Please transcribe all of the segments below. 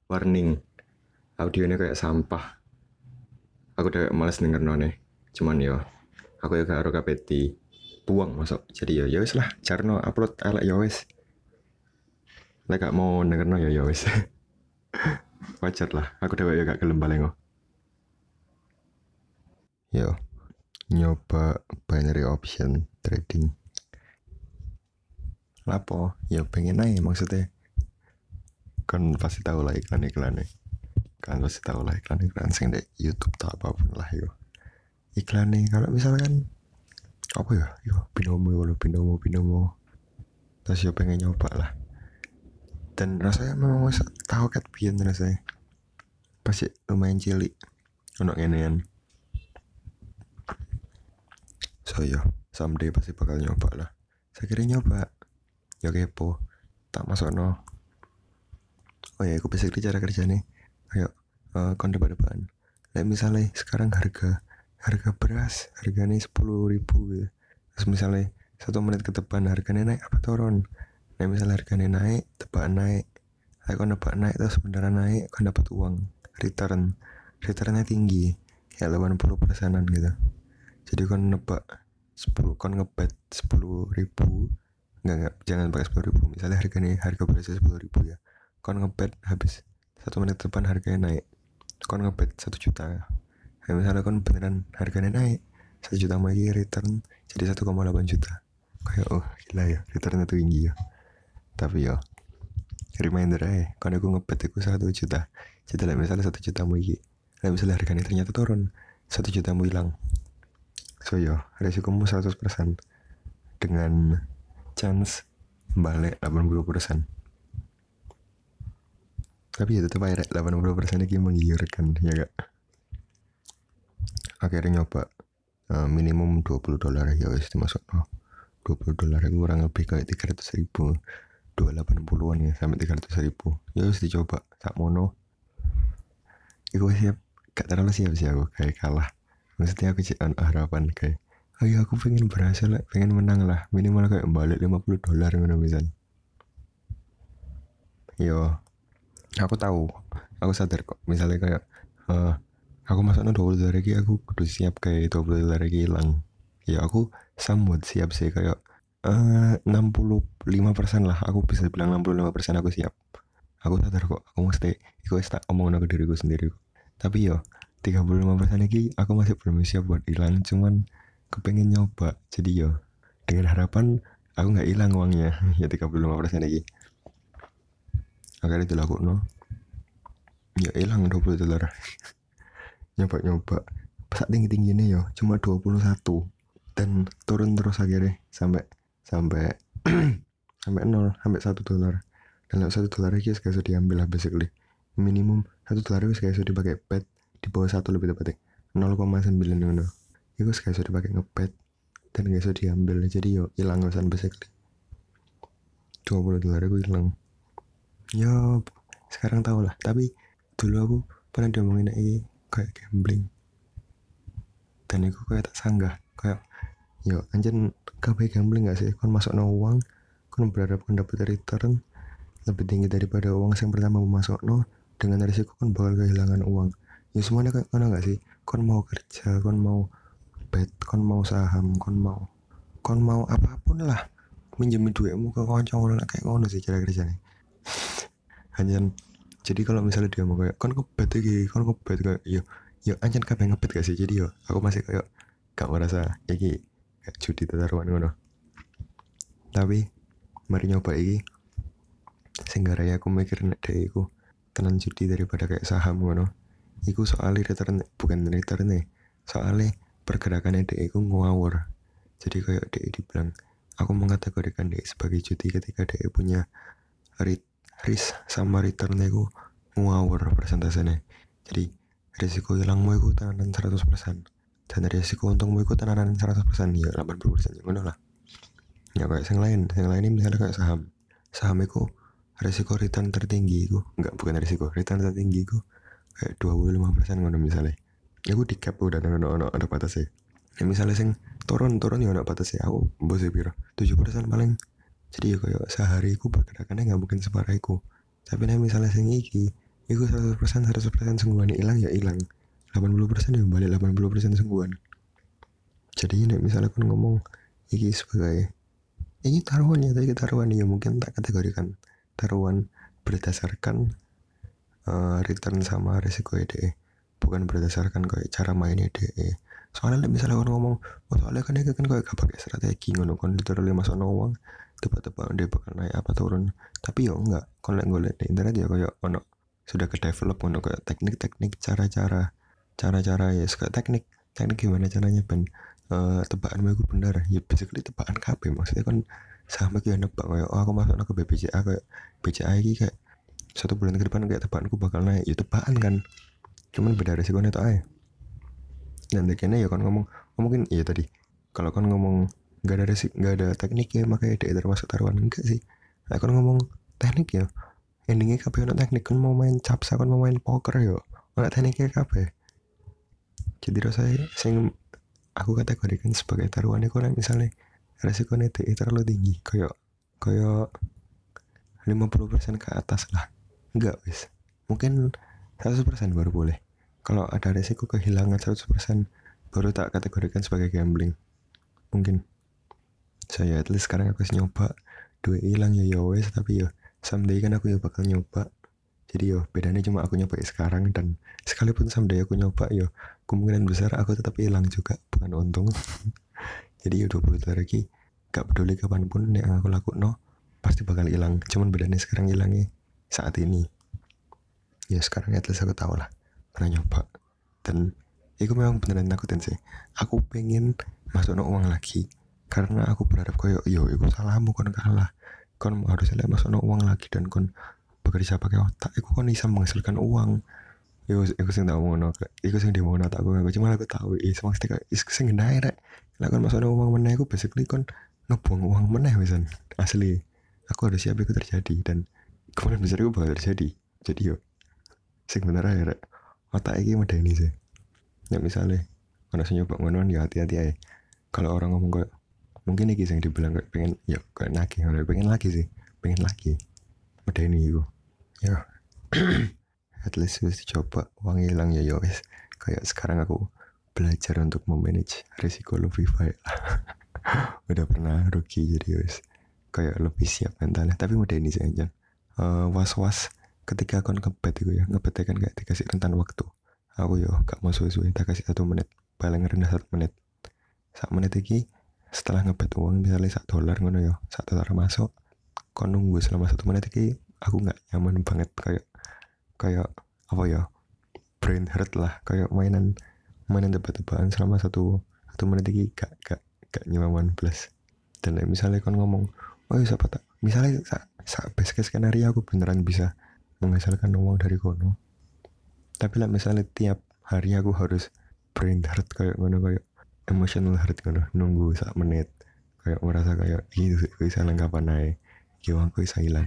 warning audionya kayak sampah. Aku udah males denger none. Cuman yo, aku ya gak harus kapeti buang masuk. Jadi ya wis lah, jarno upload elek ya wis. Lek gak mau denger no ya wis. Wajar lah, aku udah ya gak gelem paling. Yo, nyoba binary option trading. Lapo? Ya pengen aja maksudnya. Kan pasti tahu lah iklan-iklannya. Kan pasti tahu lah iklan-iklan sing di YouTube tak apapun lah yo. Iklannya kalau misalkan apa ya? Yo binomo. Terus yo pengen nyoba lah. Dan rasanya memang masa tahu kat pian rasanya. Pasti lumayan cilik. Ono ngenean. So yo, someday pasti bakal nyoba lah. Saya kira nyoba. Ya kepo. Tak masuk no. Oh ya, aku basically cara kerjanya kayak kon depan. Kayak misalnya sekarang harga beras harganya 10.000 gitu. Terus misalnya 1 menit ke depan harganya naik apa turun. Nah misalnya harganya naik, tebakan naik. Kayak kon nebak naik terus beneran naik, kon dapat uang returnnya tinggi kayak 80%-an gitu. Jadi kon nebak 10, kon ngebet 10.000. Enggak, jangan pakai 10.000. Misalnya harga berasnya 10.000 ya. Kon ngebet habis 1 menit depan harganya naik. Kon ngebet 1 juta. Nah, misalnya kon beneran harganya naik 1 juta lagi return jadi 1,8 juta. Kayak oh gila ya, returnnya tuh tinggi ya. Tapi ya reminder aja, kon aku ngebet aku 1 juta. Jadi lah misalnya 1 juta lagi. Nah misalnya harganya ternyata turun 1 juta hilang. So yo, resikomu 100% dengan chance balik 80%. Tapi ya tetap aja 80% ini menggiurkan ya gak. Akhirnya nyoba minimum $20 ya wis dimasuk no. $20 kurang lebih kayak 300.000, 280-an ya sampai 300.000 ya wis dicoba sak mono. Iku siap, gak terlalu siap sih aku kayak kalah. Maksudnya aku cek harapan kayak oh iya aku pengen berhasil lah, pengen menang lah, minimal kayak balik $50 ngono misalnya. Yo, aku tahu, aku sadar kok. Misalnya kayak aku masuknya $20 lagi, aku kudu siap kayak $20 lagi hilang. Ya aku somewhat siap sih kayak 65% lah. Aku bisa bilang 65% aku siap. Aku sadar kok, aku mesti aku tak omongin ke diriku sendiri. Tapi yo 35% lagi aku masih belum siap buat hilang. Cuman kepengen nyoba. Jadi yo dengan harapan aku nggak hilang uangnya. Ya 35% lagi. Akhirnya dilakukan no. Ya hilang $20. Nyoba pas tinggi-tingginya yo cuma 21 dan turun terus akhirnya sampai sampai sampai 0 sampai $1. Dan $1 lagi sekali diambil lah basically. Minimum $1 itu sekali dipakai pet di bawah 1 lebih tepatnya 0,9 ngono. Itu sekali dipakai ngepet dan gak bisa diambil jadi yo hilang kosan basically. $20 gue hilang. Yo sekarang tau lah, tapi dulu aku pernah diomongin kayak gambling dan aku kayak tak sanggah kayak yo anjen kabeh gambling gak sih, kon masuk no uang kon berharap kon dapat return lebih tinggi daripada uang yang pertama masuk no, dengan risiko kon bakal kehilangan uang. Ya semuanya kayak kon gak sih, kon mau kerja, kon mau bet, kon mau saham, kon mau apapun lah minjemin duitmu ke kanca ngono kayak ngono sih cara kerjanya. Hanya jadi kalau misalnya dia mau kayak kon ngebet kayak yo anjir kabeh ngebet gak sih, jadi yo aku masih kayak gak merasa iki kayak judi taruhan ngono. Tapi mari nyoba iki sing garaya aku mikir nek dhek iku tenan judi daripada kayak saham ngono. Iku soalnya return bukan return nih, soalnya pergerakannya dhek iku ngawur. Jadi kayak dhek dibilang aku mengategorikan dhek sebagai judi ketika dhek punya risk sama returnnya itu ngawur persentasenya. Jadi risiko hilangmu itu tenanan 100% dan risiko untungmu itu tenanan 100%, ya 80% ya ngono lah. Ya kayak yang lain ini misalnya kayak saham itu risiko return tertinggi itu bukan risiko return tertinggi itu kayak 25% ngono misalnya. Ya aku di cap udah ada batasnya. Ya misalnya sing turun ya ada batasnya, aku bosnya piro 7% paling. Jadi ya kayak sehari aku pergerakannya gak mungkin separah iku. Tapi nih misalnya sing iki Iku 100% sungguhan hilang ya hilang. 80% ya balik 80% sungguhan. Jadi nek misalnya kan ngomong iki sebagai ini taruhan ya, tadi taruhan ya mungkin tak kategorikan taruhan berdasarkan return sama resiko DE, bukan berdasarkan kayak cara mainnya DE. Soalnya misalnya orang ngomong, oh soalnya kan dia kan kayak gak pakai strategi ngono kan literally masuk uang tebak-tebak dia bakal naik apa turun. Tapi ya enggak, kalau gue lihat di internet ya kayak ono sudah ke develop ono kayak teknik-teknik cara-cara ya kayak teknik gimana caranya ben tebakan gue benar ya basically tebakan KB maksudnya kan sama kayak nebak kayak oh aku masuk ke BBCA kayak BCA ini kayak 1 bulan ke depan kayak tebakanku bakal naik ya tebakan kan cuman beda resikonya tuh aja dan kayaknya ya kan ngomong mungkin iya tadi kalau kan ngomong nggak ada teknik ya makanya dia termasuk taruhan enggak sih nah, kan ngomong teknik ya endingnya kabeh ono teknik kan mau main capsa kan mau main poker yo ono tekniknya kabeh jadi rasanya sing aku kategorikan sebagai taruhan itu kan misalnya resikonya DE terlalu tinggi kayak kayak 50% ke atas lah enggak wis mungkin 100% baru boleh kalau ada resiko kehilangan 100% baru tak kategorikan sebagai gambling mungkin saya at least sekarang aku nyoba duit hilang ya wes tapi ya someday kan aku ya bakal nyoba jadi yo bedanya cuma aku nyoba sekarang dan sekalipun someday aku nyoba yo kemungkinan besar aku tetap hilang juga bukan untung jadi ya 20 tahun lagi gak peduli kapanpun yang aku lakukan no pasti bakal hilang cuman bedanya sekarang hilangnya saat ini ya sekarang at least aku tahu lah pernah nyoba dan itu memang beneran nakutin sih aku pengen masuk no uang lagi karena aku berharap koyo yo itu salahmu kon kalah kon harusnya masuk no uang lagi dan kon bekerja pakai otak itu kon bisa menghasilkan uang aku sing tak ngono iku sing di ngono tak aku cuma aku tahu maksudnya iku sing ngenai rek lah kon masuk no uang meneh aku basically kon ngebuang uang meneh wisan asli aku harus siap itu terjadi dan kemungkinan besar itu bakal terjadi jadi yo sing bener aja rek otak iki medeni sih ya misalnya kalau saya nyoba ngono ya hati-hati aja kalau orang ngomong kayak mungkin iki yang dibilang kayak pengen ya kayak nagih pengen lagi sih pengen lagi medeni itu ya at least wis dicoba uang hilang ya wis kayak sekarang aku belajar untuk memanage risiko lebih baik udah pernah rugi jadi wis kayak lebih siap mentalnya tapi medeni sih aja was-was ketika aku ngebet itu ya ngebet kan kayak dikasih rentan waktu aku yo gak mau suwe-suwe tak kasih 1 menit paling rendah 1 menit 1 menit iki setelah ngebet uang misalnya $1 ngono yo $1 masuk kon nunggu selama 1 menit iki aku nggak nyaman banget kayak kayak apa ya brain hurt lah kayak mainan tebak-tebakan selama satu menit iki gak nyaman plus dan misalnya kon ngomong oh iya siapa tak misalnya best case skenario aku beneran bisa menghasilkan uang dari kono tapi lah misalnya tiap hari aku harus brain hurt kayak ngono kayak emotional hurt ngono nunggu 1 menit kayak merasa kayak gitu bisa kapan naik uangku bisa hilang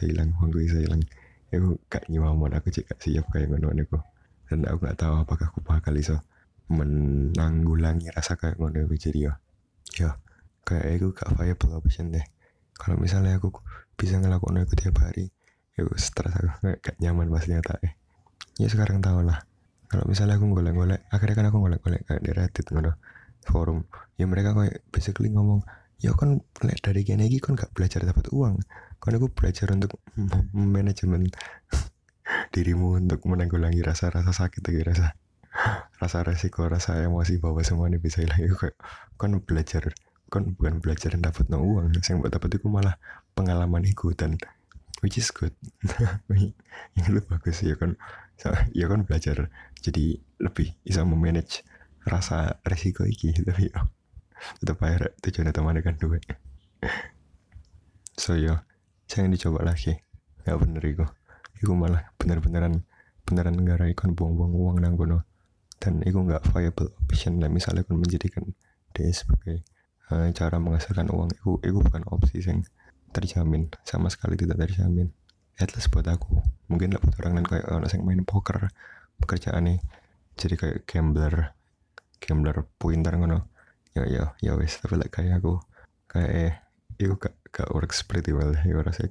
aku gak nyaman aku cek siap kayak ngono niku dan aku gak tahu apakah aku bakal iso menanggulangi rasa kayak ngono jadi ya kayak aku gak viable option deh kalau misalnya aku bisa ngelakuin itu tiap hari ya stres aku gak nyaman pasti nyata ya sekarang tau lah kalau misalnya aku golek-golek akhirnya kan aku golek-golek kayak di Reddit ngono forum ya mereka kayak basically ngomong ya kan dari gini kan gak belajar dapat uang kan aku belajar untuk manajemen dirimu untuk menanggulangi rasa-rasa sakit rasa resiko rasa emosi bahwa semua ini bisa hilang itu kayak kan belajar kan bukan belajar dan dapat no uang yang buat dapat itu malah pengalaman itu dan which is good yang lu bagus ya kan belajar jadi lebih bisa memanage rasa resiko iki tapi ya tetap aja tujuannya teman kan duit so ya jangan dicoba lagi nggak bener itu malah beneran negara ikon buang-buang uang nang kono dan itu nggak viable option lah misalnya kan menjadikan dia sebagai cara menghasilkan uang itu bukan opsi yang terjamin sama sekali tidak terjamin at least buat aku mungkin lah buat orang lain kayak orang yang main poker pekerjaannya jadi kayak gambler pointer ngono ya wes tapi like kayak aku kayak itu gak works pretty well ya rasa